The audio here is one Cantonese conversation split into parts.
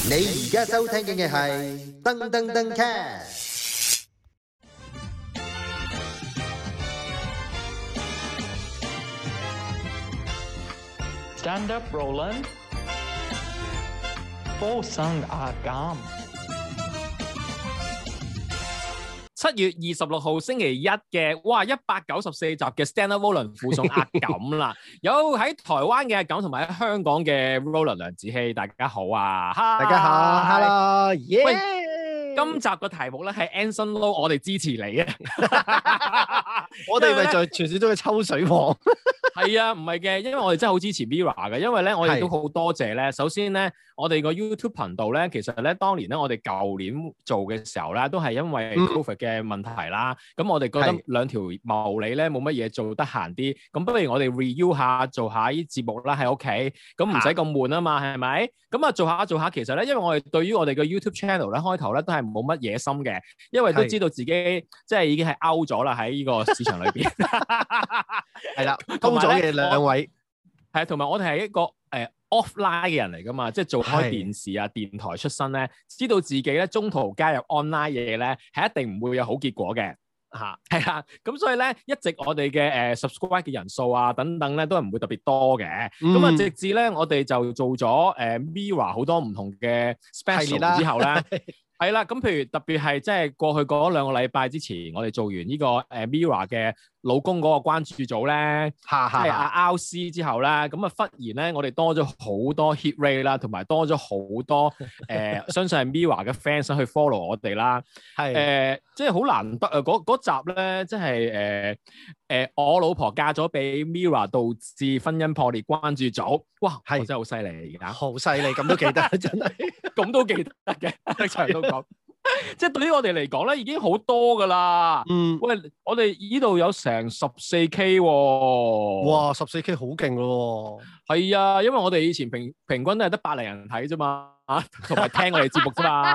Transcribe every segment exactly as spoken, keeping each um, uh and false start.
你而家收聽嘅係噔噔噔 cast。 Stand up, Roland。附送阿減。 七月二十六號星期一嘅，哇，一百九十四集嘅 Stand up Roland 附送阿減啦，有喺台灣嘅阿減同埋喺香港嘅 Roland 梁子希，大家好啊， 大家好 ，Hello，耶！ 喂，今集嘅題目咧係 Anson Lo， 我哋支持你啊！ 我哋咪就係傳説中嘅抽水王。 係啊，唔係嘅，因為我哋真係好支持 Mirror 嘅，因為咧我哋都好多謝咧。首先咧，我哋個 YouTube 頻道咧，其實咧當年咧我哋舊年做嘅時候咧，都係因為 Covid 嘅問題啦。咁、嗯、我哋覺得兩條茂利咧冇乜嘢做得閒啲，咁不如我哋 review 下做下啲節目啦喺屋企，咁唔使咁悶啊嘛，係咪？咁啊做下做下，其實咧，因為我哋對於我哋嘅 YouTube channel 咧開頭咧都係冇乜野心嘅，因為都知道自己即係已經係 out 咗啦喺呢個市場裏邊。 係啦，高咗嘅兩位係啊，同埋我哋係一個誒、呃、offline 嘅人嚟噶嘛，即係做開電視啊、電台出身咧，知道自己咧中途加入 online 嘢咧，係一定唔會有好結果嘅嚇，係啦。咁所以咧，一直我哋嘅誒 subscribe 嘅人數啊等等咧，都係唔會特別多嘅。咁啊、嗯，直至咧我哋就做咗誒、呃、Mirror 好多唔同嘅 special 之後咧。係啦，咁譬如特別係即係過去嗰兩個禮拜之前，我哋做完呢個誒 Mirror 嘅老公嗰個關注組咧，即係阿 R C 之後咧，咁啊忽然咧，我哋多咗好多 hit rate 啦，同埋多咗好多誒、呃，相信係 Mirror 嘅 fans 去 follow 我哋啦，係誒、呃，即係好難得啊！嗰集咧，即係誒誒，我老婆嫁咗俾 Mirror，導致婚姻破裂關注組，哇，係真係好犀利而家， 好犀利，咁都記得真係， 咁都記得嘅，場都講。即係對於我哋嚟講咧，已經好多噶啦。嗯，喂，我哋呢度有成十四 K 喎。 哇，十四 K 好勁咯。 係啊，因為我哋以前平平均都係得百零人睇啫嘛，同埋聽我哋節目啫嘛。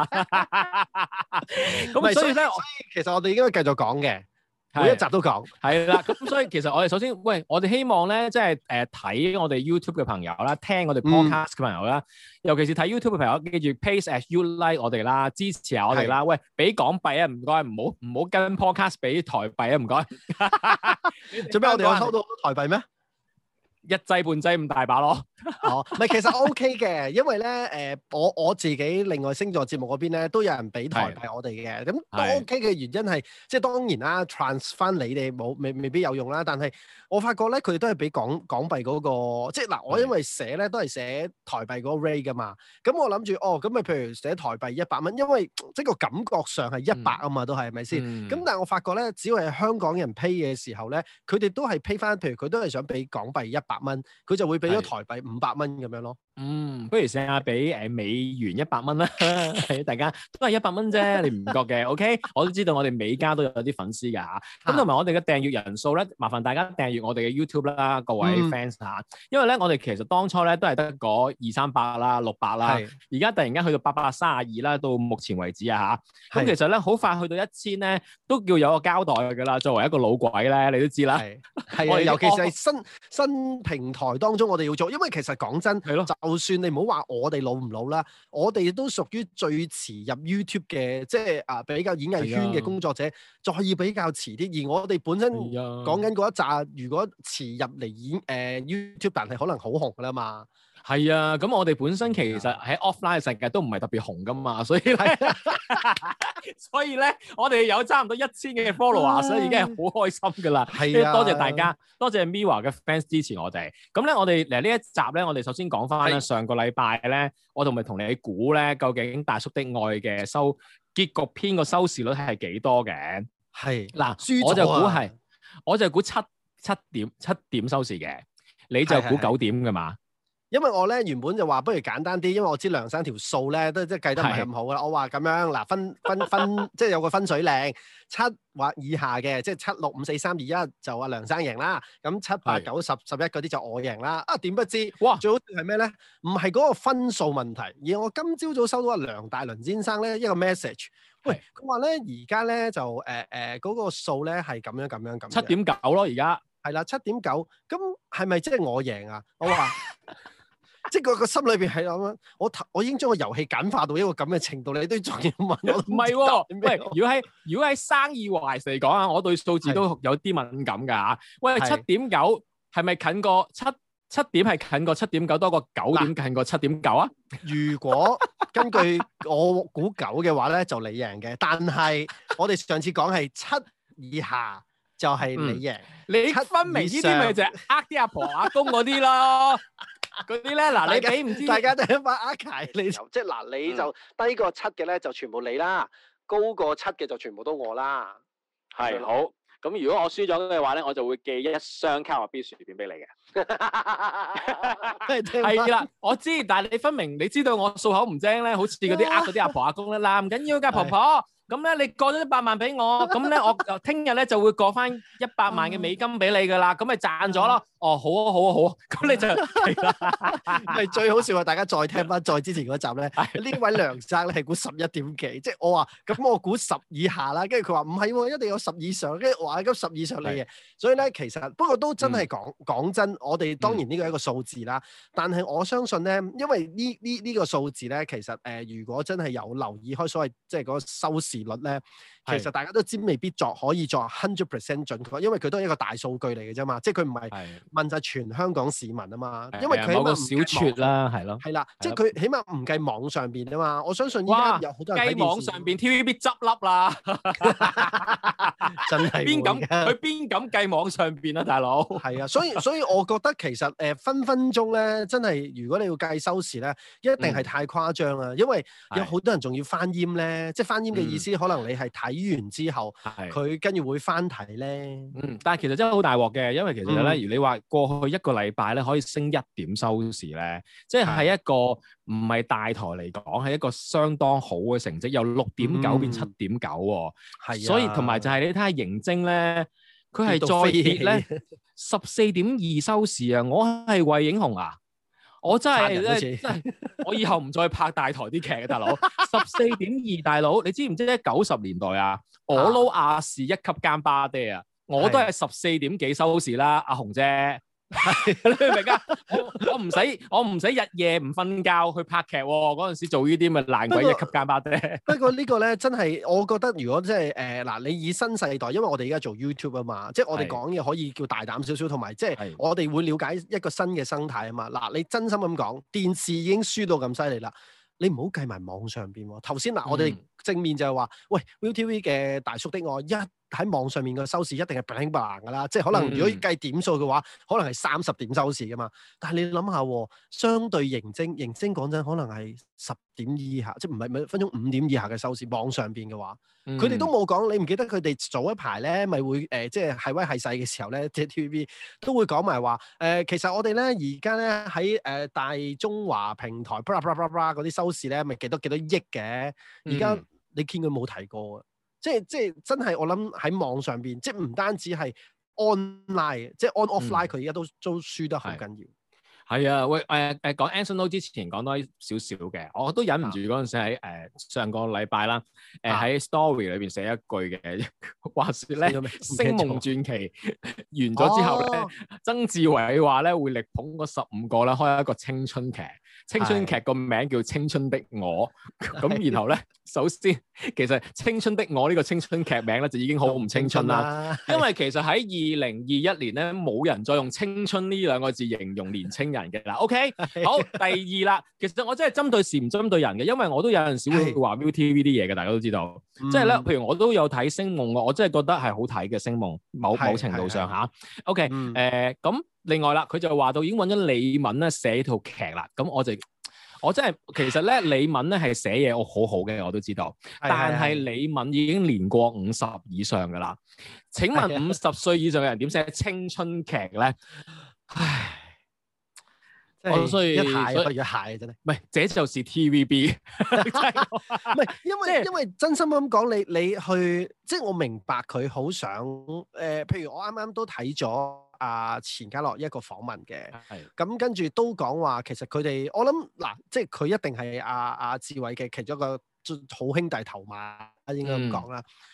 咁所以咧，其實我哋應該繼續講嘅。每一集都講， 係啦，咁所以其實我哋首先，喂，我哋希望咧，即係誒睇我哋 YouTube 嘅朋友啦，聽我哋 Podcast 嘅朋友啦，嗯、尤其是睇 YouTube 嘅朋友，記住 Pace as you like 我哋啦，支持下我哋啦，喂，俾港幣啊，唔該，唔好唔好跟 Podcast 俾台幣啊，唔該。 做咩我哋有收到好多台幣咩？ 一劑半劑咁大把咯， 哦，唔係其實 OK 嘅，因為咧誒、呃，我我自己另外星座節目嗰邊咧都有人俾台幣我哋嘅，咁都 OK 嘅原因係，即係當然啦 ，trans 翻你哋冇未未必有用啦，但係我發覺咧佢哋都係俾港港幣嗰、嗰個，即係嗱，我因為寫咧都係寫台幣嗰個 rate 噶嘛，咁我諗住哦，咁咪譬如寫台幣一百蚊，因為即係個感覺上係一百啊嘛，都係係咪先？咁、嗯、但係我發覺咧，只要係香港人 pay 嘅時候咧，佢哋都係 pay 翻，譬如佢都係想俾港幣一百蚊，佢就會俾咗台幣五百蚊咁樣咯。 嗯，不如試下俾誒美元一百蚊啦，大家都係一百蚊啫，你唔覺嘅 ？OK， 我都知道我哋美加都有啲粉絲㗎嚇。咁同埋我哋嘅訂閱人數咧，麻煩大家訂閱我哋嘅 YouTube 啦，各位 fans 嚇、嗯。因為咧，我哋其實當初咧都係得嗰二三百啦、六百啦，而家突然間去到八百三十二啦，到目前為止啊嚇。咁其實咧，好快去到一千咧，都叫有個交代㗎啦。作為一個老鬼咧，你都知啦。 係啊，尤其是係新新平台當中，我哋要做，因為其實講真，係咯，就算你唔好話我哋老唔老啦，我哋都屬於最遲入 YouTube 嘅，即係啊比較演藝圈嘅工作者，再要比較遲啲。而我哋本身講緊嗰一紮，如果遲入嚟演誒、呃、YouTube，但係可能好紅㗎啦嘛。 係啊，咁我哋本身其實喺 offline 嘅世界都唔係特別紅㗎嘛，所以咧，所以咧，我哋有差唔多一千嘅 follower，所以已經係好開心㗎啦。係啊，多謝大家，多謝 Mirror 嘅 fans 支持我哋。咁咧，我哋嚟呢一集咧，我哋首先講翻咧，上個禮拜咧，我同咪同你估咧，究竟大叔的愛嘅收結局篇個收視率係幾多嘅？係嗱，我就估係，我就估七七點七點收視嘅，你就估九點㗎嘛？ 因為我咧原本就話不如簡單啲，因為我知梁生條數咧都即係計得唔係咁好啦。我話咁樣嗱，分分分即係有個分水嶺，七或以下嘅，即係七六五四三二一就阿梁生贏啦。咁七八九十十一嗰啲就我贏啦。啊，點不知哇，最好係咩咧？唔係嗰個分數問題，而我今朝早收到阿梁大倫先生咧一個 message，喂，佢話咧而家咧就誒誒嗰個數咧係咁樣咁樣咁。 七點九咯，而家係啦，七點九，咁係咪即係我贏啊？我話。 即係個個心裏邊係咁樣，我我已經將個遊戲簡化到一個咁嘅程度，你都仲要問我？ 唔係喎，喂，如果喺如果喺生意 wise 嚟講啊，我對數字都有啲敏感㗎嚇。喂，七點九係咪近過七七點係近過七點九多過九點近過七點九啊？ 如果根據我估九嘅話咧，就你贏嘅。但係我哋上次講係七以下就係你贏。 嗯、你分明呢啲咪就係呃啲阿婆阿公嗰啲咯。嗰啲咧，嗱你俾唔知， 大家都一把呃柴，你就即係嗱，你就低過七嘅咧，就全部你啦；高過七嘅就全部都我啦。 係好，咁如果我輸咗嘅話咧，我就會寄一箱卡樂 B 薯片俾你嘅。 係啦，我知，但係你分明你知道我數口唔精咧，好似嗰啲呃嗰啲阿婆阿公咧，嗱唔緊要㗎，婆婆。咁咧，你過咗一百萬俾我，咁咧我聽日咧就會過翻一百萬嘅美金俾你噶啦，咁咪賺咗咯。哦，好啊，好啊，好啊，咁你就係啦。 咪最好笑啊！大家再聽翻再之前嗰集咧，呢位梁生咧係估十一點幾，即係我話咁我估十以下啦，跟住佢話唔係喎，一定有十以上，跟住我話咁十以上你嘅。所以咧其實不過都真係講講真，我哋當然呢個係一個數字啦，但係我相信咧，因為呢呢呢個數字咧，其實誒、呃、如果真係有留意開所謂即係嗰個收視率咧，其實大家都知未必作可以作 hundred percent 準確，因為佢都係一個大數據嚟嘅啫嘛，即係佢唔係問晒全香港市民啊嘛，因為佢某個小撮啦，係咯， 係啦，即係佢起碼唔計網上邊啊嘛，我相信依家有好多人計網上邊 T V B 執笠啦， 真係邊敢佢邊敢計網上邊啊，大佬？ 係啊，所以所以我覺得其實誒、呃、分分鐘咧，真係如果你要計收視咧，一定係太誇張啦，嗯、因為有好多人仲要翻閹咧，即係翻閹嘅意思，嗯、可能你係睇完之後，佢跟住會翻睇咧。嗯， 但係其實真係好大鑊嘅，因為其實咧，如你話過去一個禮拜咧可以升一點收視咧，即係喺一個唔係大台嚟講係一個相當好嘅成績，由六點九變七點九喎。係、嗯，所以同埋就係你睇下盈晶咧，佢係再跌咧十四點二收視啊！我係惠影紅啊！我真係咧，真係我以後唔再拍大台啲劇嘅大佬。十四點二大佬，你知唔知咧？九十年代啊，我撈亞視一級奸巴爹啊，我都係十四點幾收視啦，阿紅姐。你明唔明啊？我我唔使我唔使日夜唔瞓覺去拍劇喎，嗰陣時做呢啲咪爛鬼一級奸巴爹。 不過呢個咧真係，我覺得如果即係誒嗱，你以新世代，因為我哋而家做 YouTube 啊嘛，即係我哋講嘢可以叫大膽少少，同埋即係我哋會了解一個新嘅生態啊嘛。嗱，你真心咁講，電視已經輸到咁犀利啦。你唔好計埋網上邊喎。頭先嗱，我哋正面就係話，喂 ViuTV 嘅大叔的愛一喺網上面嘅收視一定係 bling bling 㗎啦，即係可能如果計點數嘅話，可能係三十點收視㗎嘛。但係你諗下，相對盈晶，盈晶講真可能係十點以下，即係唔係每分鐘五點以下嘅收視。網上邊嘅話，佢哋、嗯、都冇講。你唔記得佢哋早一排咧，咪會誒、呃，即係係威係勢嘅時候咧，即係 T V B 都會講埋話誒，其實我哋咧而家咧喺誒大中華平台 blah blah blah blah 嗰啲收視咧，咪幾多幾多億嘅。而家、嗯、你見佢冇提過啊。即係即係真係，我諗喺網上邊，即係唔單止係 online，即係 on offline，佢而家都都輸得好緊要。 係啊，喂誒誒講 Anson Lo 之前講多少少嘅，我都忍唔住嗰陣時喺誒、呃、上個禮拜啦，誒、呃、喺、啊、story 裏邊寫一句嘅，話説咧《星夢傳奇》完咗之後咧，哦、曾志偉話咧會力捧嗰十五個咧開一個青春劇。青春劇個名叫《青春的我》，咁然後咧，首先其實《青春的我》呢個青春劇名咧就已經好唔青春啦，因為其實喺二零二一年咧冇人再用青春呢兩個字形容年青人嘅啦。OK，好，第二啦，其實我真係針對事唔針對人嘅，因為我都有陣時會話 ViuTV 啲嘢嘅，大家都知道，即係咧，譬如我都有睇《星夢》，我真係覺得係好睇嘅《星夢》，某某程度上嚇。OK，誒咁。另外啦，佢就話到已經揾咗李敏咧寫套劇啦，咁我就我真係其實咧李敏咧係寫嘢我好好嘅，我都知道，但係李敏已經年過五十以上噶啦。請問五十歲以上嘅人點寫青春劇咧？唉，我所以一蟹不如一蟹真係，唔係，這就是 T V B， 唔係因為、就是、因為真心咁講，你你去即係我明白佢好想誒、呃，譬如我啱啱都睇咗。阿錢嘉樂一個訪問嘅，咁的跟住都講話，其實佢哋我諗嗱，即係佢一定係阿阿志偉嘅其中一個好兄弟頭馬，應該咁講啦。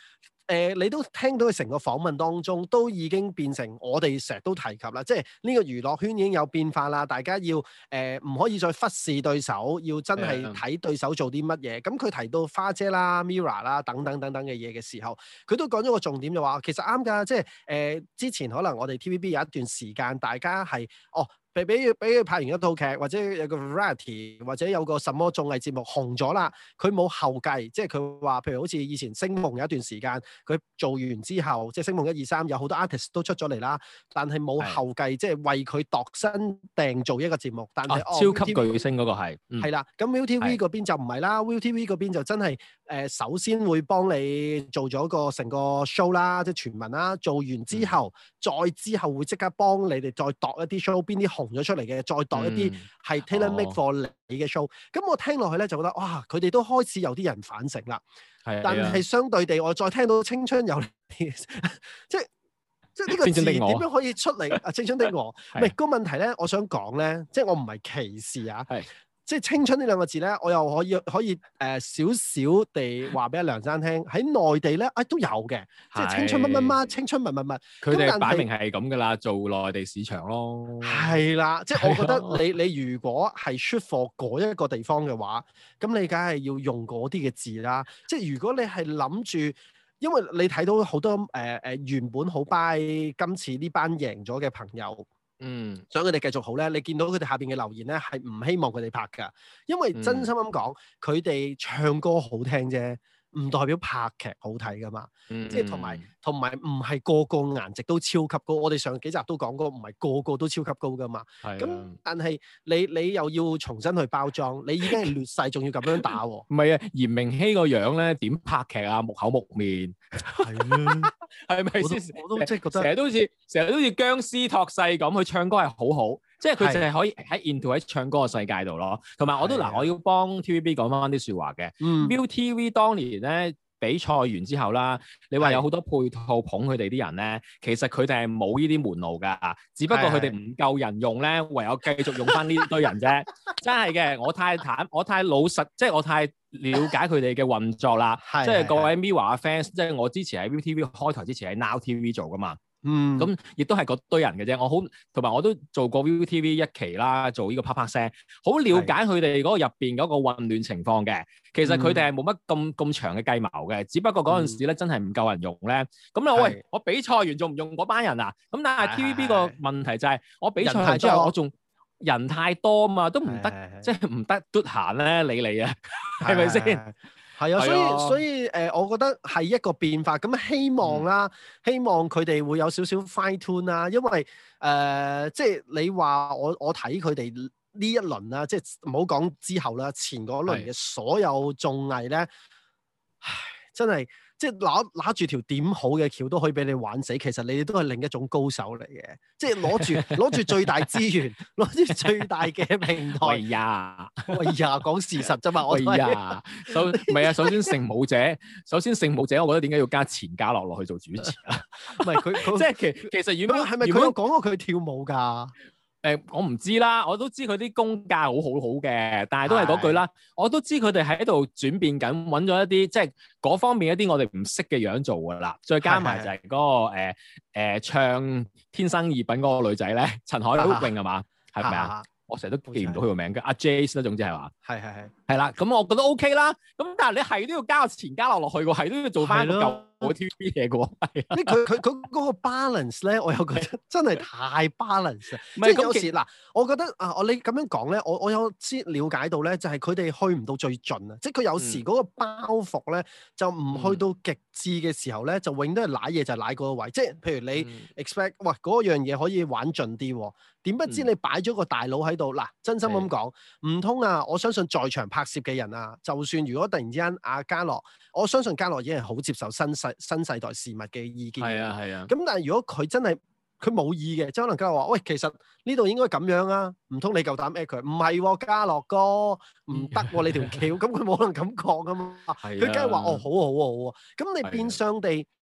呃，你都聽到佢成個訪問當中，都已經變成我哋成日都提及啦，即係呢個娛樂圈已經有變化啦，大家要誒唔、呃、可以再忽視對手，要真係睇對手做啲乜嘢。咁佢、嗯、提到花姐啦、Mirror 啦等等等等嘅嘢嘅時候，佢都講咗個重點就話，其實啱㗎，即係誒、呃、之前可能我哋 T V B 有一段時間，大家係哦。俾俾佢俾佢拍完一套劇，或者有個 variety，或者有個什麼綜藝節目紅咗啦，佢冇後繼，即係佢話，譬如好似以前星夢有一段時間，佢做完之後，即係星夢一二三有好多 artist 都出咗嚟啦，但係冇後繼，是即係為佢度身訂做一個節目。但係、啊哦、 超級巨星嗰個係，係、 嗯、啦，咁 ViuTV 嗰邊就唔係啦，ViuTV 嗰邊就真係誒、呃、首先會幫你做咗個成個 show 啦，即係全民啦，做完之後，嗯、再之後會即刻幫你哋再度一啲 show，邊啲紅咗出嚟嘅，再度一啲係 tailor make for 你嘅 show。咁、哦、我聽落去咧就覺得哇，佢哋都開始有啲人反省啦。係，但係相對地，我再聽到青春有你，即係即係呢個字點樣可以出嚟啊？青春的我，唔係個問題咧，我想講咧，即係我唔係歧視啊。係。即係青春呢兩個字咧，我又可以可以誒、呃、少少地話俾阿梁生聽，喺內地咧，啊、哎、都有嘅，即係青春乜乜乜，青春乜乜乜， 佢哋擺明係咁噶啦，做內地市場咯。 係啦，即係我覺得你你如果係 shoot for 嗰一個地方嘅話，咁你梗係要用嗰啲嘅字啦。即係如果你係諗住，因為你睇到好多誒誒、呃、原本好 buy 今次呢班贏咗嘅朋友。嗯，想佢哋繼續好咧，你見到佢哋下邊嘅留言咧，係唔希望佢哋拍㗎，因為真心咁講，佢哋、嗯、唱歌好聽啫，唔代表拍劇好睇㗎嘛。嗯、即係同埋同埋唔係個個顏值都超級高，我哋上幾集都講過，唔係個個都超級高㗎嘛。係咁、啊，但係你你又要重新去包裝，你已經係劣勢，仲要咁樣打喎。 唔係啊，嚴明熙個樣咧點拍劇啊？木口木面。係啊，係咪先？我都即係覺得成日都好似成日都好似僵屍託世咁，佢唱歌係好好，即係佢淨係可以喺 into 喺唱歌嘅世界度咯。同埋我都嗱，的我要幫 T V B 講翻啲説話嘅。嗯，ViuTV 當年咧比賽完之後啦，你話有好多配套捧佢哋啲人咧，其實佢哋係冇呢啲門路㗎，只不過佢哋唔夠人用咧，唯有繼續用翻呢堆人啫。真係嘅，我太坦，我太老實，即係我太了解佢哋嘅運作啦。即係各位 Mirror 嘅 fans，即係我之前喺 ViuTV 開台之前喺 Now T V 做㗎嘛。嗯，咁亦都係嗰堆人嘅啫。我好同埋我都做過 ViuTV 一期啦，做呢個啪啪聲，好了解佢哋嗰個入邊嗰個混亂情況嘅。其實佢哋係冇乜咁咁長嘅計謀嘅，只不過嗰陣時咧真係唔夠人用咧。咁啊喂，我比賽完仲唔用嗰班人啊？咁但係 T V B 個問題就係我比賽完之後我仲人太多嘛，都唔得，即係唔得嘟閒咧理你啊，係咪先？ 係啊，所以所以誒、呃，我覺得係一個變化。咁希望啦，嗯、希望佢哋會有少少 fine tune 啦。因為誒、呃，即係你話我我睇佢哋呢一輪啦，即係唔好講之後啦，前嗰輪嘅所有綜藝咧，唉，真係〜即係攞攞住條點好嘅橋都可以俾你玩死，其實你哋都係另一種高手嚟嘅。即係攞住攞住最大資源，攞住最大嘅平台。喂呀，喂呀，講事實啫嘛。 喂呀，首唔係啊，首先聖母者，首先聖母者，我覺得點解要加錢嘉樂落去做主持啊？ 唔係佢，即係其其實原本係咪佢有講過佢跳舞㗎？ 誒、呃，我唔知啦，我都知佢啲功架好好好嘅，但係都係嗰句啦，的我都知佢哋喺度轉變緊，揾咗一啲即係嗰方面一啲我哋唔識嘅樣做㗎啦，再加埋就係嗰、那個誒的、呃呃、唱《天生異品》嗰個女仔咧，陳海榮係嘛？係咪啊？我成日都記唔到佢個名嘅，阿 Jace 啦，總之係話，係係係，係啦，咁我覺得 OK 啦，咁但係你係都要加個錢嘉樂落去喎，係都要做翻個舊 T V B 嘢嘅喎，係啊， 佢佢佢嗰個 balance 咧，我又覺得真係太 balance 啊，即係有時嗱，我覺得啊，我你咁樣講咧，我我有先了解到咧，就係佢哋去唔到最盡啊，即係佢有時嗰個包袱咧，就唔去到極致嘅時候咧，就永遠都係瀨嘢就係瀨嗰個位，即係譬如你 expect，喂嗰樣嘢可以玩盡啲喎。點不知你擺咗個大佬喺度嗱，真心咁講，唔通啊！我相信在場拍攝嘅人啊，就算如果突然之間阿嘉樂，我相信嘉樂已經係好接受新世新世代事物嘅意見。係啊係啊。咁但係如果佢真係佢冇意嘅，即係可能嘉樂話：喂，其實呢度應該咁樣啊，唔通你夠膽 at 佢？唔係喎，嘉樂哥唔得喎，你條橋，咁佢冇可能咁講噶嘛。佢梗係話：哦，好啊好啊好啊。咁你變相地。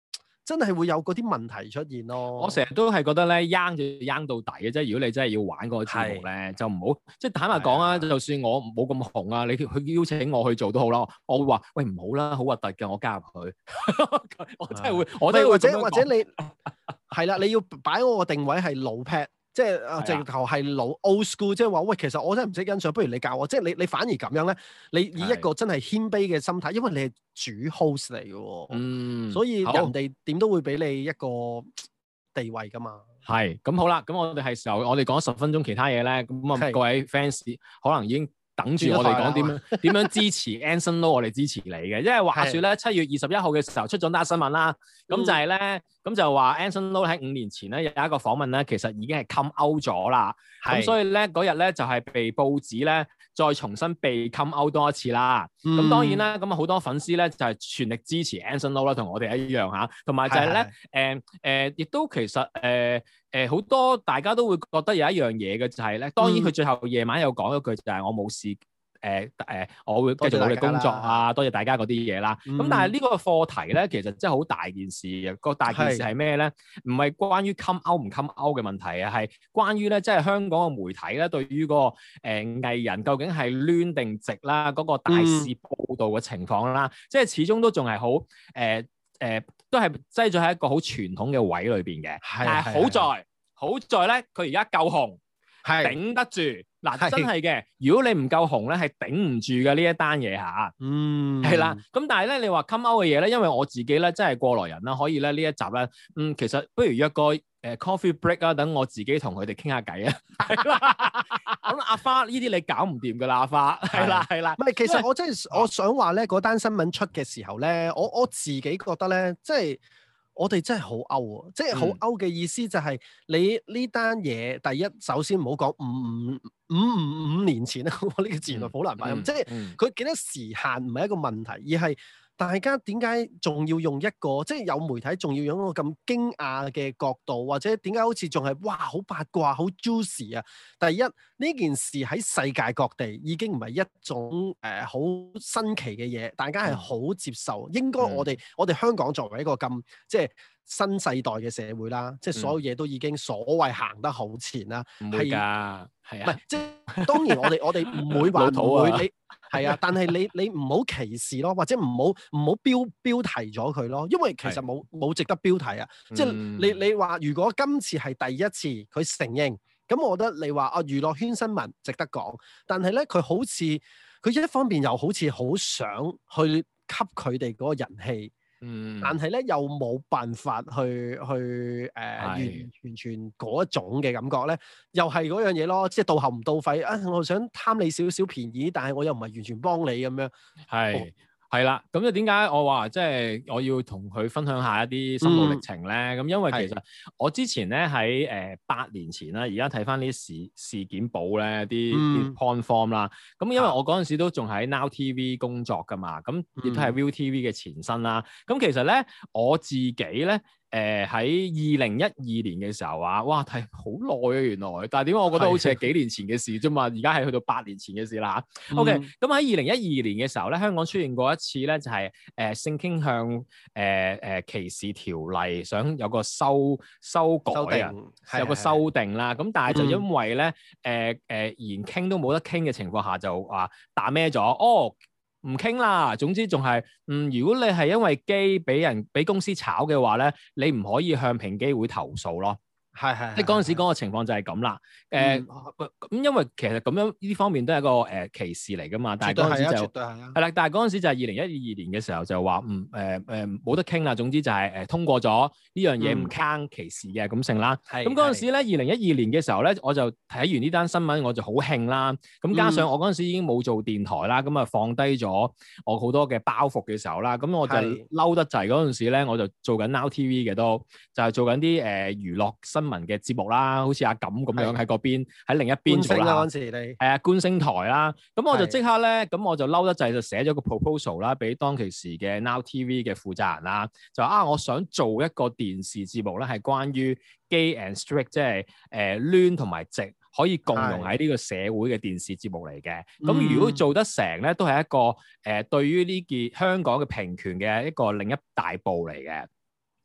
真係會有嗰啲問題出現咯。 我成日都係覺得咧，罌就罌到底嘅，即係如果你真係要玩嗰個節目咧，就唔好即係坦白講啊，就算我冇咁紅啊，你佢邀請我去做都好啦，我會話喂唔好啦，好核突嘅，我加入去。我真係會，我真係會或者或者你係啦，你要擺我個定位係老 pad。即係啊，直頭係老 old school，即係話喂，其實我真係唔識欣賞，不如你教我。即係你你反而咁樣咧，你以一個真係謙卑嘅心態，因為你係主 host 嚟嘅喎，嗯，所以人哋點都會俾你一個地位噶嘛。係，咁好啦，咁我哋係時候，我哋講十分鐘其他嘢咧，咁啊各位 fans 可能已經等住我哋講點樣點樣支持 Anson Lo， 我哋支持你嘅，因為話説咧七月二十一號嘅時候出咗單新聞啦，咁就係咧，咁就話 Anson Lo 喺五年前咧有一個訪問咧，其實已經係 come out 咗啦，咁所以咧嗰日咧就係被報紙咧再重新被 come out 多一次啦。咁、嗯、當然啦，咁啊好多粉絲咧就係全力支持 Anson Lo 啦，同我哋一樣嚇，同埋就係咧誒誒，亦都其實誒誒好多大家都會覺得有一樣嘢嘅就係咧，當然佢最後夜晚有講一句就係我冇事。誒誒、呃呃，我會繼續努力工作啊！多謝大家嗰啲嘢啦。咁、嗯、但係呢個課題咧，其實真係好大件事嘅。個大件事係咩咧？唔係關於 come out 唔 come out 嘅問題啊，係關於咧，即係香港嘅媒體咧，對於、嗰個誒、呃、藝人究竟係攣定直啦，嗰、嗰個大肆報導嘅情況啦，嗯、即係始終都仲係好誒誒，都係擠咗喺一個好傳統嘅位裏邊嘅。係但係好在好在咧，佢而家夠紅，係頂得住。嗱，真係嘅，如果你唔夠紅咧，係頂唔住嘅呢一單嘢嚇。嗯，係啦。咁但係咧，你話 come out 嘅嘢咧，因為我自己咧真係過來人啦，可以咧呢一集咧，嗯，其實不如約個誒 coffee break 啊，等我自己同佢哋傾下偈啊。咁阿花呢啲你搞唔掂㗎啦，阿花係啦係啦。唔係，其實我真係我想話咧，嗰單新聞出嘅時候咧，我我自己覺得咧，即係。我哋真係好 out 啊！即係好 out 嘅意思就係你呢單嘢，第一首先唔好講五五五五五年前啦，我呢個字原來好難發音。嗯、即係佢幾多時限唔係一個問題，而係大家點解仲要用一個即係有媒體仲要用一個咁驚訝嘅角度，或者點解好似仲係哇好八卦好 juicy 啊？第一呢件事喺世界各地已經唔係一種誒好、呃、新奇嘅嘢，大家係好接受。嗯、應該我哋、嗯、我哋香港作為一個咁即係新世代嘅社會啦，即係所有嘢都已經所謂行得好前啦。唔會㗎，係啊，唔係即係當然我哋我哋唔會話唔會你。係啊，但係你你唔好歧視咯，或者唔好唔好標標題咗佢咯，因為其實冇冇值得標題啊。嗯、即係你你話如果今次係第一次佢承認，咁我覺得你話啊娛樂圈新聞值得講，但係咧佢好似佢一方面又好似好想去吸佢哋嗰個人氣。嗯，但係咧又冇辦法去去誒、呃、完完全嗰一種嘅感覺咧，又係嗰樣嘢咯，即係到喉唔到肺啊！我想貪你少少便宜，但係我又唔係完全幫你咁樣。係。哦係啦，咁就點解我話即係我要同佢分享一下一啲心路歷程咧？咁、嗯、因為其實我之前咧喺誒八年前啦，而家睇翻啲事事件簿咧，啲啲 point form 啦。咁因為我嗰陣時都仲喺 Now T V 工作噶嘛，咁亦都係 ViuTV 嘅前身啦。咁其實咧我自己咧。誒喺二零一二年嘅時候啊，哇睇好耐啊原來，但係點解我覺得好似係幾年前嘅事啫嘛？而家係去到八年前嘅事啦。嗯、OK，咁喺二零一二年嘅時候咧，香港出現過一次咧，就係、是、誒、呃、性傾向誒誒、呃呃、歧視條例想有個修修改啊，定有個修訂啦。咁但係就因為咧誒誒連傾都冇得傾嘅情況下，就話打咩咗哦。唔傾啦，總之仲係，嗯，如果你係因為機俾人俾公司炒嘅話咧，你唔可以向平機會投訴咯。係係，即係嗰陣時嗰個情況就係咁啦。誒，咁因為其實咁樣呢方面都係一個誒歧視嚟噶嘛。但係嗰陣時就係啦，但係嗰陣時就係二零一二年嘅時候就話，嗯誒誒冇得傾啦。總之就係誒通過咗呢樣嘢唔坑歧視嘅咁性啦。咁嗰陣時咧，二零一二年嘅時候咧，我就睇完呢單新聞，我就好興啦。咁加上我嗰陣時已經冇做電台啦，咁啊放低咗我好多嘅包袱嘅時候啦，咁我就嬲得滯嗰陣時咧，我就做緊 Now T V 嘅都就係做緊啲誒娛樂新聞嘅節目啦，好似阿錦咁樣喺嗰邊，喺另一邊做啦。嗰陣時你係啊，觀星台啦，咁我就即刻咧，咁我就嬲得滯，就寫咗個 proposal 啦，俾當其時嘅 Now T V 嘅負責人啦，就啊，我想做一個電視節目咧，係關於 gay and straight， 即係誒攣同埋直可以共融喺呢個社會嘅電視節目嚟嘅。咁、嗯、如果做得成咧，都係一個誒、呃、對於呢件香港嘅平權嘅一個另一大步嚟嘅。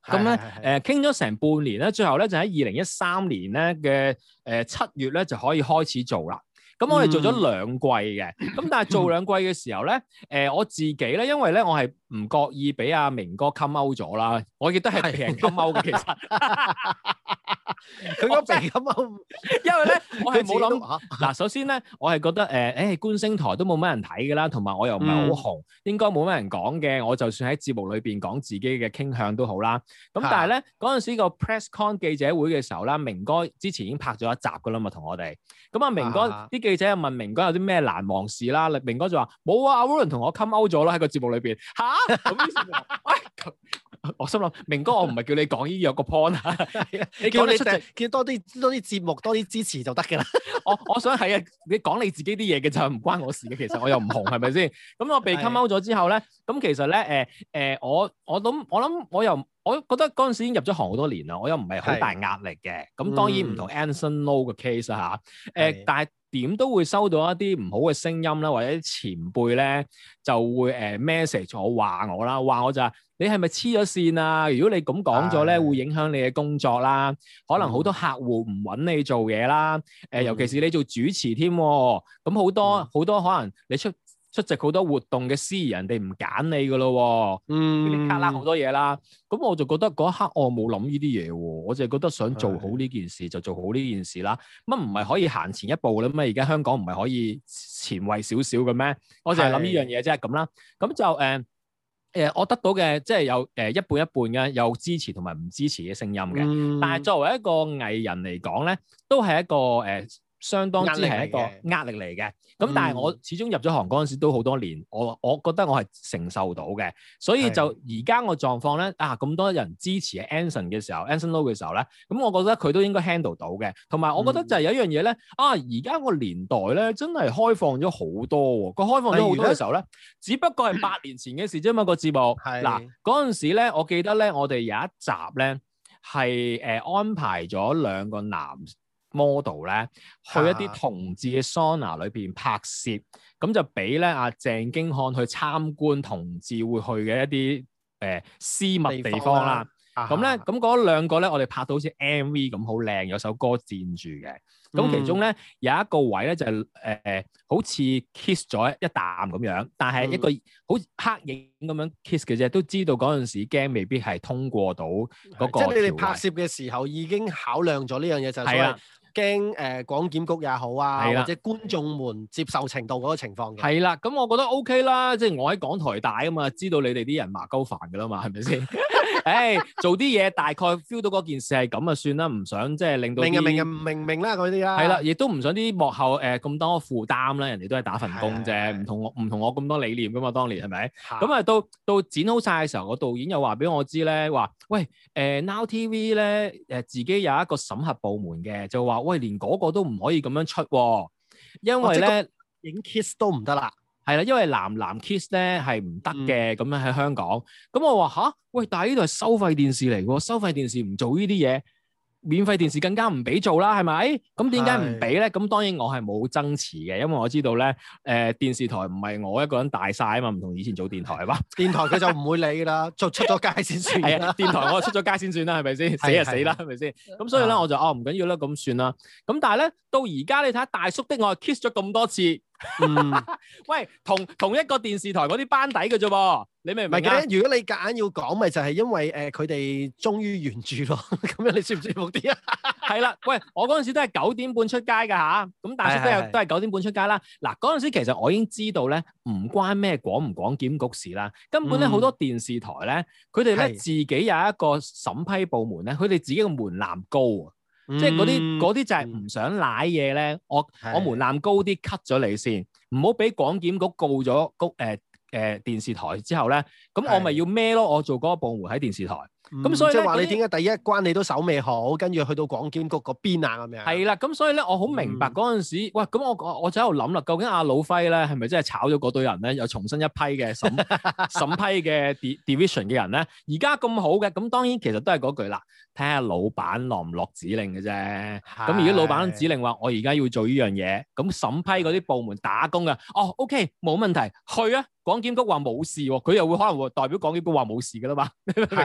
咁咧誒傾咗成半年咧，最後咧就喺二零一三年咧嘅誒七月咧就可以開始做啦。咁我哋做咗兩季嘅，咁、嗯、但係做兩季嘅時候咧，誒、呃、我自己咧，因為咧我係唔覺意俾阿明哥 come out 咗啦，我亦都係俾人 come out 嘅，其實佢個鼻 come out， 因為咧我係冇諗嗱，首先咧我係覺得誒誒、欸、觀星台都冇乜人睇㗎啦，同埋我又唔係好紅，嗯、應該冇乜人講嘅，我就算喺節目裏邊講自己嘅傾向都好啦。咁但係咧嗰陣時個 press con 記者會嘅時候啦，明哥之前已經拍咗一集㗎啦嘛，同我哋。咁啊明哥啲記者又問明哥有啲咩難忘事啦，明哥就話冇啊，阿 Roland 同我 come out 咗啦喺個節目裏邊嚇。咁於是我，哎、我心諗明哥，我唔係叫你講呢樣個 point 啊，你叫你叫多啲多啲節目多啲支持就得㗎啦。我我想係啊，你講你自己啲嘢嘅就唔關我事嘅，其實我又唔紅係咪先？咁我被 come out 咗之後咧，咁其實咧誒誒，我我諗我諗我又。我覺得嗰陣時已經入咗行好多年啦，我又唔係好大壓力嘅。咁是當然唔同 Anson Lo 嘅 case 啊嚇。誒是，但係點都會收到一啲唔好嘅聲音啦，或者啲前輩咧就會誒 message 我話我啦，話我就話你係咪黐咗線啊？如果你咁講咗咧，是會影響你嘅工作啦。可能好多客戶唔揾你做嘢啦。誒、嗯，尤其是你做主持添，咁好多好、嗯、多可能你出。出席好多活動嘅司儀，人哋唔揀你噶咯，嗯，呢啲卡啦好多嘢啦，咁我就覺得嗰一刻我冇諗呢啲嘢喎，我就係覺得想做好呢件事的就做好呢件事啦。乜唔係可以行前一步咧？咩而家香港唔係可以前衞少少嘅咩？我就係諗呢樣嘢啫，咁啦。咁就誒誒、呃，我得到嘅即係有誒、呃、一半一半嘅，有支持同埋唔支持嘅聲音嘅。嗯、但係作為一個藝人嚟講咧，都係一個誒。呃相當之係一個壓力嚟嘅，咁但係我始終入咗行嗰陣時都好多年，我我覺得我係承受到嘅，所以就而家個狀況咧啊，咁多人支持 Anson 嘅時候 Anson Lo 嘅時候咧，咁我覺得佢都應該 handle 到嘅，同埋我覺得就係有一樣嘢咧啊，而家個年代咧真係開放咗好多喎，個開放咗好多嘅時候咧，只不過係八年前嘅事啫嘛，個節目，嗱嗰陣時咧，我記得咧，我哋有一集咧係誒安排咗兩個男 model 咧去一啲同志嘅 sauna 裏邊拍攝，咁、啊、就俾咧阿鄭經翰去參觀同志會去嘅一啲誒、呃、私密地方啦。咁咧，咁嗰兩個咧，我哋拍到好似 M V 咁好靚，有首歌佔住嘅。咁、嗯、其中咧有一個位咧就係、是、誒、呃、好似 kiss 咗一啖咁樣，但係一個好黑影咁樣 kiss 嘅啫，都知道嗰陣時驚未必係通過到嗰個。即係你哋拍攝嘅時候已經考量咗呢樣嘢，就係、是。驚誒廣檢局也好啊，的或者觀眾們接受程度嗰個情況嘅。係啦，咁我覺得 OK 啦，即係我喺港台大啊嘛，知道你哋啲人麻鳩煩㗎啦嘛，係咪先？誒、哎，做啲嘢大概 feel 到嗰件事係咁啊，算啦，唔想即係令到明人明人唔明明啦嗰啲啦。係啦，亦都唔想啲幕後誒咁、呃、多負擔啦，人哋都係打份工啫，唔同我唔同我咁多理念㗎嘛，當年係咪？咁啊的到到剪好晒嘅時候，個導演又話俾我知咧，話喂誒、呃、Now T V 咧誒、呃、自己有一個審核部門嘅，就話。喂，連嗰個都唔可以咁樣出喎，因為咧影 kiss 都唔得啦，係啦，因為男男 kiss 咧係唔得嘅，咁、嗯、樣喺香港。咁我話吓，喂，但係呢度係收費電視嚟喎，收費電視唔做呢啲嘢，免費電視更加唔俾做啦，係咪？咁點解唔俾咧？咁當然我係冇爭持嘅，因為我知道咧，誒、呃、電視台唔係我一個人大晒啊嘛，唔同以前做電台係嘛。電台佢就唔會理啦，就出咗街先算。係啊，電台我出咗街先算啦，係咪先？死就死啦，係咪先？咁所以咧，我就哦唔緊要啦，咁算啦。咁但係咧，到而家你睇下大叔的愛 kiss 咗咁多次。嗯，喂，同同一個電視台嗰啲班底嘅啫噃，你明唔明啊？如果你夾硬要講，咪就係因為誒佢哋忠於原著咯，咁樣你舒唔舒服啲啊？係啦，喂，我嗰陣時都係九點半出街噶吓，咁大叔都有都係九點半出街啦。嗱，嗰陣時其實我已經知道咧，唔關咩廣唔廣檢局事啦，根本咧好多電視台咧，佢哋咧自己有一個審批部門咧，佢哋自己個門檻高啊。嗯、即係嗰啲嗰啲就係唔想舐嘢咧，我是我門檻高啲 cut 咗你先，唔好俾廣檢局告咗告誒誒電視台之後咧，咁我咪要孭咯，我做嗰個部門喺電視台。咁、嗯、所以即係話你點解第一關你都守未好，跟住去到廣檢局嗰邊啊咁樣？係啦，咁所以咧我好明白嗰陣時，嗯、喂，咁我我我就喺度諗啦，究竟阿老輝咧係咪真係炒咗嗰堆人咧，又重新一批嘅審審批嘅 division 嘅人咧？而家咁好嘅，咁當然其實都係嗰句啦，睇下老闆落唔落指令嘅啫。咁如果老闆指令話我而家要做呢樣嘢，咁審批嗰啲部門打工嘅，哦 OK 冇問題，去啊！廣檢局話冇事喎，佢又會可能會代表廣檢局話冇事㗎啦嘛。係係係，廣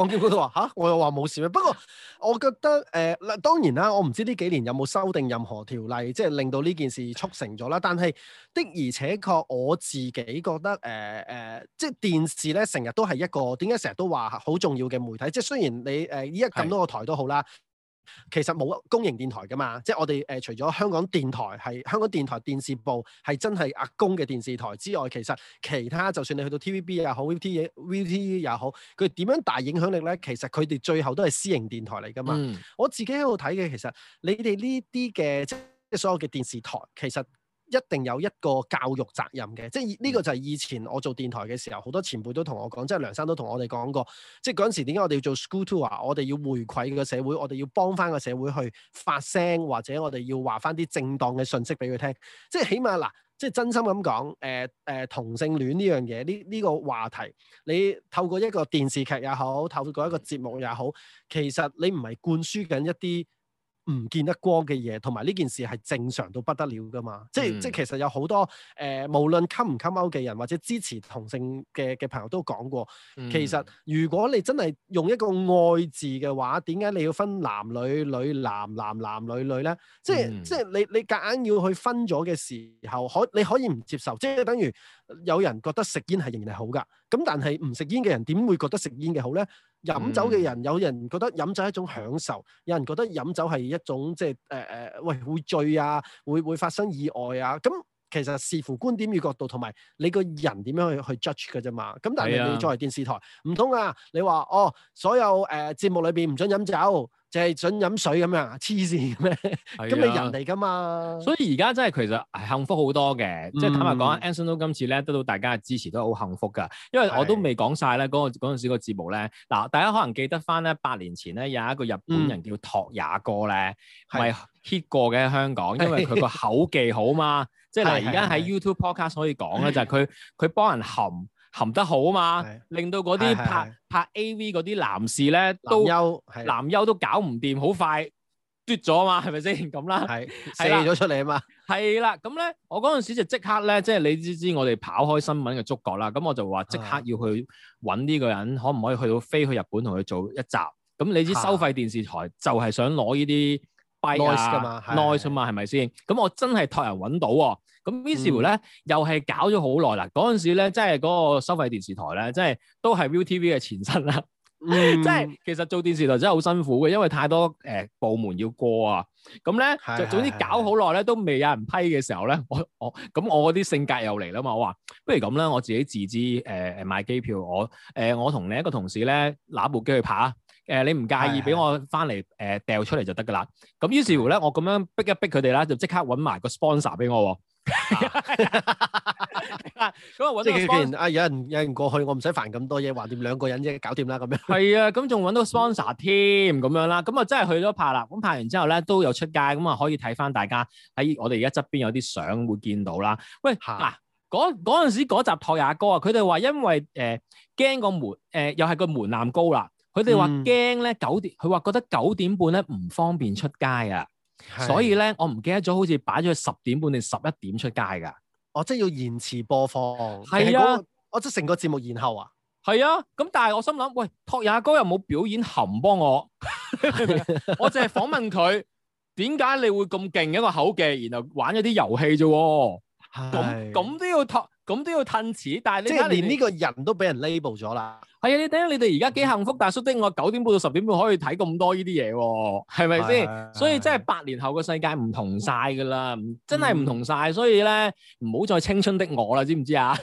網檢嗰度話吓，我又話冇事咩？不過我覺得誒嗱、呃，當然啦，我唔知呢幾年有冇修訂任何條例，即係令到呢件事促成咗啦。但係的而且確，我自己覺得誒誒、呃呃，即係電視咧，成日都係一個點解成日都話好重要嘅媒體。即係雖然你誒依家咁多個台都好啦。其實冇公營電台㗎嘛，即係我哋誒、呃、除咗香港電台係香港電台電視部係真係阿公嘅電視台之外，其實其他就算你去到 T V B 也好 V T V T 也好，佢點樣大影響力咧？其實佢哋最後都係私營電台嚟㗎嘛。嗯、我自己喺度睇嘅，其實你哋呢啲嘅即係所有嘅電視台，其實一定有一個教育責任嘅，即係呢個就係以前我做電台嘅時候，好多前輩都同我講，即係梁生都同我哋講過，即係嗰陣時點解我哋要做 school tour，我哋要回饋個社會，我哋要幫翻個社會去發聲，或者我哋要話翻啲正當嘅信息俾佢聽，即係起碼嗱，即係真心咁講，誒、呃、誒、呃、同性戀呢樣嘢，呢呢、這個話題，你透過一個電視劇也好，透過一個節目也好，其實你唔係灌輸緊一啲唔見得光嘅嘢，同埋呢件事係正常到不得了噶嘛？即係、嗯、即係其實有好多誒、呃，無論溝唔溝勾嘅人或者支持同性嘅嘅朋友都講過，嗯、其實如果你真係用一個愛字嘅話，點解你要分男女女男男男女女咧？即係、嗯、即係你你夾硬要去分咗嘅時候，可你可以唔接受，即係等於有人覺得食煙係仍然係好噶，咁但係唔食煙嘅人點會覺得食煙嘅好咧？飲酒嘅人，有人覺得飲酒係一種享受，有人覺得飲酒係一種即係誒誒，喂會醉啊，會會發生意外啊。咁其實視乎觀點與角度，同埋你個人點樣去去 judge 嘅啫嘛。咁但係你作為電視台，唔通啊？你話哦，所有誒、呃、節目裏邊唔准飲酒，淨係准飲水咁樣，黐線咩？咁你人嚟噶嘛？ 所以而家真係其實係幸福好多嘅，即係、嗯、坦白講 Anson Lo 今次咧得到大家嘅支持都好幸福噶。因為我都未講晒咧嗰個嗰陣時個節目咧，嗱大家可能記得翻咧八年前咧有一個日本人叫托也哥咧，咪 hit 過嘅香港，因為佢個口技好嘛。即係嗱，而家喺 YouTube Podcast 可以講咧，就係佢佢幫人含含得好啊嘛，是令到嗰啲拍是是是拍 A V 嗰啲男士咧都男優都搞唔掂，好快嘟咗啊嘛，係咪先咁啦？係射咗出嚟啊嘛。 係啦，咁咧我嗰陣時就即刻咧，即係你知知我哋跑開新聞嘅觸角啦，咁我就話即刻要去揾呢個人，可唔可以去到飛去日本同佢做一集？咁你知收費電視台就係想攞呢啲 noise 噶嘛 noise 啊嘛，係咪先？咁我真係託人揾到喎。咁於是乎咧，嗯、又係搞咗好耐啦。嗰陣時咧，即係嗰個收費電視台咧，即係都係 ViuTV 嘅前身啦。即係、嗯、其實做電視台真係好辛苦嘅，因為太多誒、呃、部門要過啊。咁咧就總之搞好耐咧，都未有人批嘅時候咧，我我咁我嗰啲性格又嚟啦嘛。我話不如咁啦，我自己自資誒誒買機票，我誒、呃、我同另一個同事咧拿部機去拍啊。誒、呃、你唔介意俾我翻嚟誒掉出嚟就得㗎啦。咁於是乎咧，我咁樣逼一逼佢哋啦，就即刻揾埋個 sponsor 俾我。咁啊，即係既然啊，有人有人過去，我唔使煩咁多嘢，橫掂兩個人啫，搞掂啦咁樣。 係啊，咁仲揾到 sponsor 添咁樣啦，咁啊真係去咗拍啦。咁拍完之後咧，都有出街，咁啊可以睇翻大家喺我哋而家側邊有啲相會見到啦。喂，嗱嗰嗰陣時嗰集托也哥啊，佢哋話因為誒驚個門誒、呃、又係個門檻高啦，佢哋話驚咧九點，佢話覺得九點半咧唔方便出街啊。所以咧，我唔記得咗，好似擺咗去十點半定十一點出街噶。 哦，即係要延遲播放。 係啊， 我即係成個節目延後啊。 係啊，咁但係我心諗，喂，托也哥又冇表演含幫我，我淨係訪問佢，點解你會咁勁一個口技，然後玩咗啲遊戲啫？咁咁都要托。咁都要褪遲，但係你即係連呢個人都俾人 label 咗啦。 係啊，你睇下你哋而家幾幸福，大叔的我九點半到十點半可以睇咁多呢啲嘢喎，係咪先？的所以真係八年後個世界唔同晒㗎啦，真係唔同晒。嗯、所以咧唔好再青春的我啦，知唔知啊？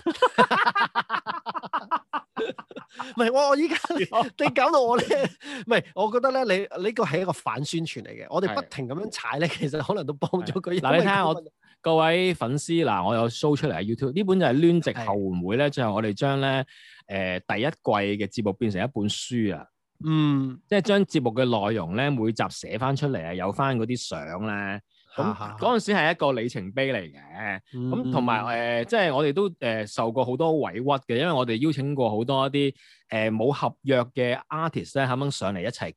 唔係我我依家你搞到我咧，唔係我覺得咧，你呢個係一個反宣傳嚟嘅。我哋不停咁樣踩咧，其實可能都幫咗佢。 嗱，你睇下我。各位粉絲嗱，我有 show 出嚟喺 YouTube，呢本就係攣直後援會咧，最後我哋將咧誒第一季嘅節目變成一本書啊，嗯，即係將節目嘅內容咧每集寫翻出嚟啊，有翻嗰啲相咧，咁嗰陣時係一個里程碑嚟嘅，咁同埋誒即係我哋都誒、呃、受過好多委屈嘅，因為我哋邀請過好多一啲誒冇合約嘅 artist 咧，肯唔肯上嚟一齊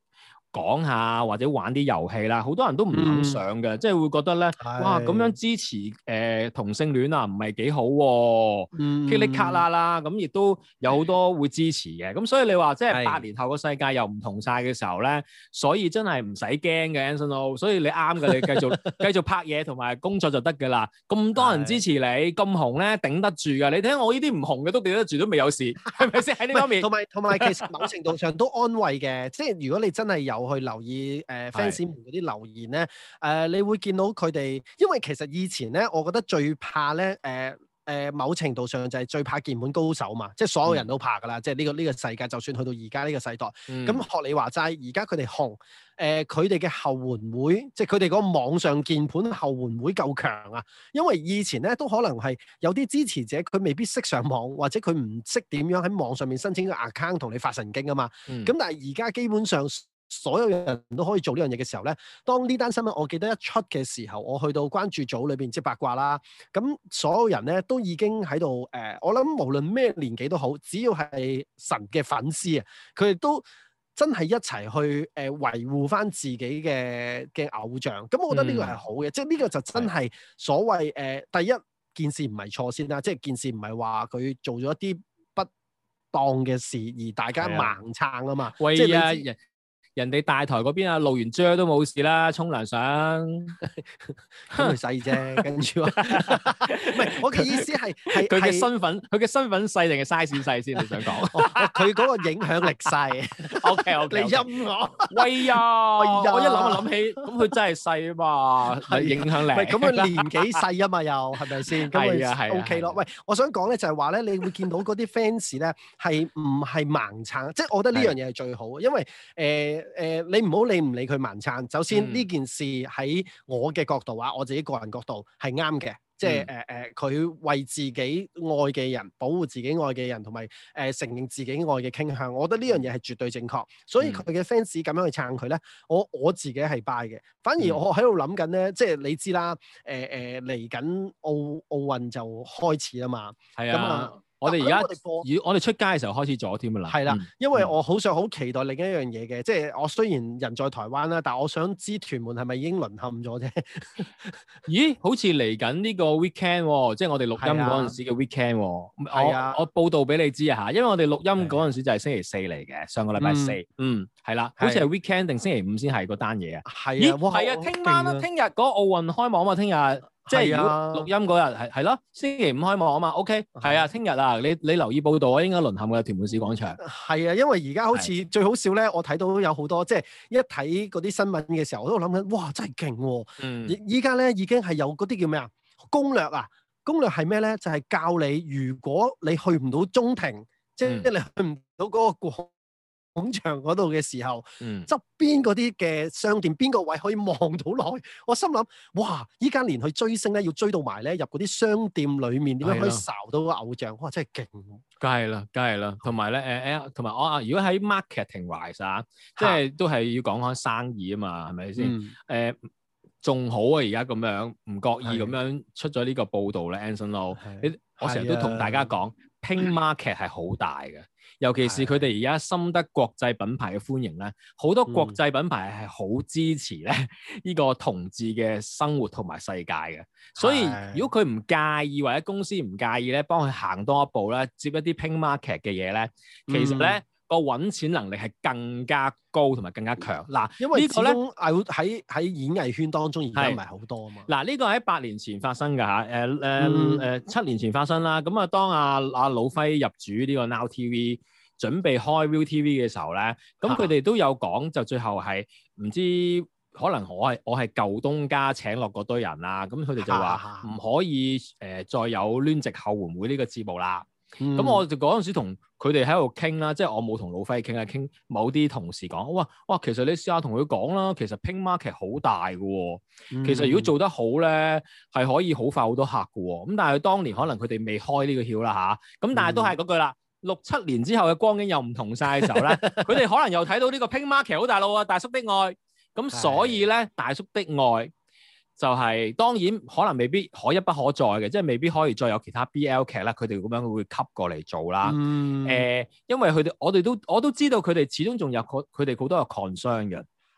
講下或者玩啲遊戲啦，好多人都唔肯上嘅，嗯、即係會覺得咧，是哇咁樣支持誒、呃、同性戀啊，唔係幾好喎、啊，噼里卡啦啦，咁亦都有好多會支持嘅，咁所以你話即係八年後個世界又唔同晒嘅時候咧，所以真係唔使驚嘅 Anson Lo， 所以你啱嘅，你繼續繼續拍嘢同埋工作就得㗎啦。咁多人支持你，咁紅咧頂得住㗎。你睇我呢啲唔紅嘅都頂得住，都未有事，係咪先喺呢方面？同埋同埋其實某程度上都安慰嘅，即係如果你真係有去留意誒 fans 們嗰啲留言咧，誒、呃、你會見到佢哋，因為其實以前咧，我覺得最怕咧誒。呃誒、呃、某程度上就係最怕鍵盤高手嘛，即係所有人都怕㗎啦，嗯、即係呢、呢個呢、呢個世界，就算去到而家呢個世代，咁、嗯、學你話齋，而家佢哋紅，誒佢哋嘅後援會，即係佢哋嗰個網上鍵盤後援會夠強啊，因為以前咧都可能係有啲支持者佢未必識上網，或者佢唔識點樣喺網上面申請個 account 同你發神經啊嘛，咁、嗯、但係而家基本上。所有人都可以做呢樣嘢嘅時候咧，當呢單新聞我記得一出嘅時候，我去到關注組裏邊即係八卦啦，咁所有人咧都已經喺度誒，我諗無論咩年紀都好，只要係神嘅粉絲啊，佢哋都真係一齊去誒、呃、維護翻自己嘅嘅偶像，咁我覺得呢個係好嘅，嗯、即係呢個就真係所謂誒、呃、第一件事唔係錯先啦，即係件事唔係話佢做咗一啲不當嘅事而大家盲撐啊嘛， 喂即係你。 人哋大台嗰邊啊，露完啫都冇事啦，沖涼上咁佢細啫，跟住話，唔係我嘅意思係係佢嘅身份，佢嘅身份細定係 size 細先？你想講佢嗰個影響力細 ？OK OK， 你陰我， 喂呀！我一諗就諗起，咁佢真係細啊嘛，係影響力。 喂，咁佢年紀細啊嘛，又係咪先？ 係啊係 OK 咯。喂，我想講咧就係話咧，你會見到嗰啲 fans 咧係唔係盲撐？即係我覺得呢樣嘢係最好，因為誒。誒、呃，你唔好理唔理佢盲撐。首先呢、嗯、件事喺我嘅角度啊，我自己個人角度係啱嘅，即係誒誒，佢、嗯呃、為自己愛嘅人保護自己愛嘅人，同埋誒承認自己愛嘅傾向，我覺得呢樣嘢係絕對正確。所以佢嘅 fans 咁樣去撐佢咧，我我自己係 buy 嘅。反而我喺度諗緊咧，即係你知啦，誒誒嚟緊奧奧運就開始啦嘛， 係啊。我哋而家，如我哋出街嘅時候開始咗添㗎啦。 係啦，因為我好想好期待另一樣嘢嘅，即係我雖然人在台灣啦，但係我想知屯門係咪已經淪陷咗啫？ 咦，好似嚟緊呢個 weekend 喎，即係我哋錄音嗰陣時嘅 weekend 喎。係啊，我報道俾你知啊嚇，因為我哋錄音嗰陣時就係星期四嚟嘅，上個禮拜四。嗯，係啦，好似係 weekend 定星期五先係嗰單嘢啊。係啊，係啊，聽晚啦，聽日嗰個奧運開幕啊嘛，聽日。即係如果錄音嗰日係係咯，星期五開幕啊嘛 ，OK，係啊，聽日啊，你你留意報道啊，應該淪陷嘅屯門市廣場。係啊，因為而家好似的最好笑咧，我睇到有好多即係一睇嗰啲新聞嘅時候，我都諗緊，哇，真係勁喎！嗯，依家咧已經係有嗰啲叫咩啊？攻略啊，攻略係咩咧？就係、是、教你，如果你去唔到中庭，即係、嗯、你去唔到嗰個過廣場嗰度嘅時候，側邊嗰啲嘅商店邊個位可以望到落去？我心諗，哇！依家連去追星咧，要追到埋咧入嗰啲商店裏面，點樣可以睄到個偶像？哇！真係勁！梗係啦，梗係啦。同埋咧，誒誒，同埋我啊，如果喺 marketing wise 啊，即係都係要講開生意啊嘛，係咪先？誒，仲好啊！而家咁樣唔覺意咁樣出咗呢個報導咧 Anson Lo，你我成日都同大家講，Pink Market 係好大嘅。尤其是佢哋而家深得國際品牌嘅歡迎咧，好多國際品牌係好支持咧呢個同志嘅生活同埋世界嘅。所以如果佢唔介意或者公司唔介意咧，幫佢行多一步咧，接一啲 Pink Market 嘅嘢咧，其實咧個揾錢能力係更加高同埋更加強。嗱，因為呢個咧喺喺演藝圈當中而家唔係好多啊嘛。嗱，呢個喺八年前發生㗎嚇，誒誒誒七年前發生啦。咁啊，當阿阿魯輝入主呢個 Now T V，準備開 ViuTV 嘅時候咧，咁佢哋都有講，就最後係唔知可能我係我係舊東家請落嗰堆人啦，咁佢哋就話唔可以誒、呃、再有攣直後援會呢個節目啦。咁、嗯、我就嗰陣時同佢哋喺度傾啦，即係我冇同老輝傾啊，傾某啲同事講，哇哇，其實你試下同佢講啦，其實 Pink Market 好大嘅喎，嗯、其實如果做得好咧，係可以好快好多客嘅喎。咁但係當年可能佢哋未開呢個竅啦吓，咁但係都係嗰句啦。六七年之後嘅光景又唔同晒嘅時候咧，佢哋可能又睇到呢個 Pink Market 好大路啊，大叔的愛，咁所以咧，大叔的愛就係、是、當然可能未必可一不可再嘅，即係未必可以再有其他 B L 劇啦，佢哋咁樣會吸過嚟做啦。誒、嗯呃，因為佢哋我哋都我都知道佢哋始終仲有佢哋好多嘅 concern 嘅。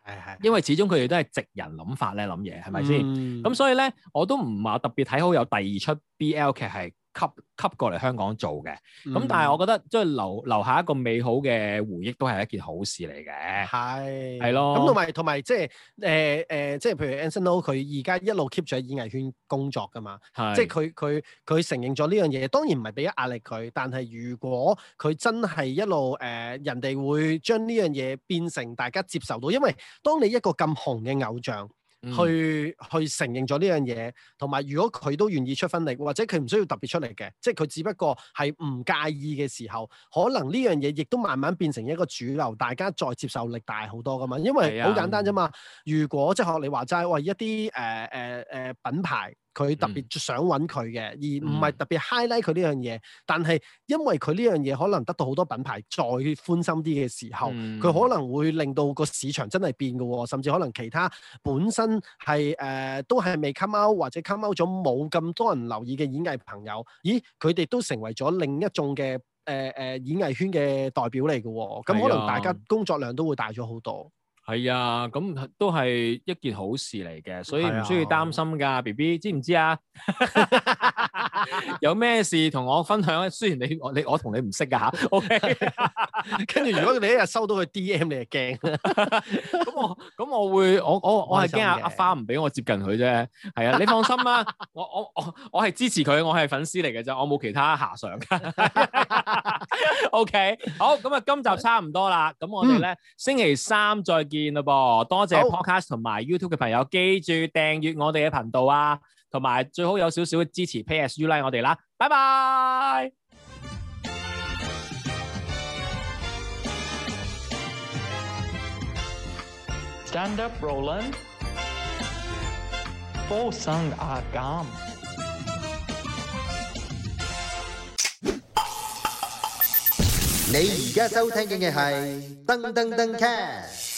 係， 因為始終佢哋都係直人諗法咧諗嘢，係咪先？咁、 嗯、 所以咧，我都唔話特別睇好有第二出 B L 劇係吸吸過嚟香港做嘅。咁、嗯、但係我覺得即係留留下一個美好嘅回憶都係一件好事嚟嘅。 係係咯。 咁同埋同埋即係誒誒，即係譬如 Anson Lo 佢而家一路 keep 住喺演藝圈工作㗎嘛。係。即係佢佢佢承認咗呢樣嘢，當然唔係俾壓力佢，但係如果佢真係一路誒、呃，人哋會將呢樣嘢變成大家接受到，因為當你一個咁紅嘅偶像。 嗯、 去去承認咗呢樣嘢，同埋如果佢都願意出分力，或者佢唔需要特別出嚟嘅，即係佢只不過係唔介意嘅時候，可能呢樣嘢亦都慢慢變成一個主流，大家再接受力大好多噶嘛。因為好簡單啫嘛。如果即係學你話齋，喂一啲誒誒誒品牌。佢特別想揾佢嘅，而唔係特別 highlight 佢呢樣嘢。但係因為佢呢樣嘢可能得到好多品牌再寬心啲嘅時候，佢、嗯、可能會令到個市場真係變嘅喎，甚至可能其他本身係誒、呃、都係未 come out 或者 come out 咗冇咁多人留意嘅演藝朋友，咦佢哋都成為咗另一種嘅誒誒演藝圈嘅代表嚟嘅喎，咁可能大家工作量都會大咗好多。 係啊，咁都係一件好事嚟嘅，所以唔需要擔心㗎 ，B B 知唔知啊？有咩事同我分享咧？雖然你我你我同你唔識㗎吓 OK 跟住如果你一日收到佢 D M， 你就驚。 咁我咁我會我我我係驚阿阿花唔俾我接近佢啫。係啊，你放心啦，我我我我係支持佢，我係粉絲嚟嘅啫，我冇其他遐想。OK， 好，咁啊，今集差唔多啦，咁我哋咧、嗯、星期三再見啦噃，多謝 Podcast 同埋 YouTube 嘅朋友，記住訂閱我哋嘅頻道啊，同埋最好有少少嘅支持 Pay as you like 我哋啦，拜拜。 Stand up, Roland。附送阿減。 你而家收聽嘅係噔噔噔 cast。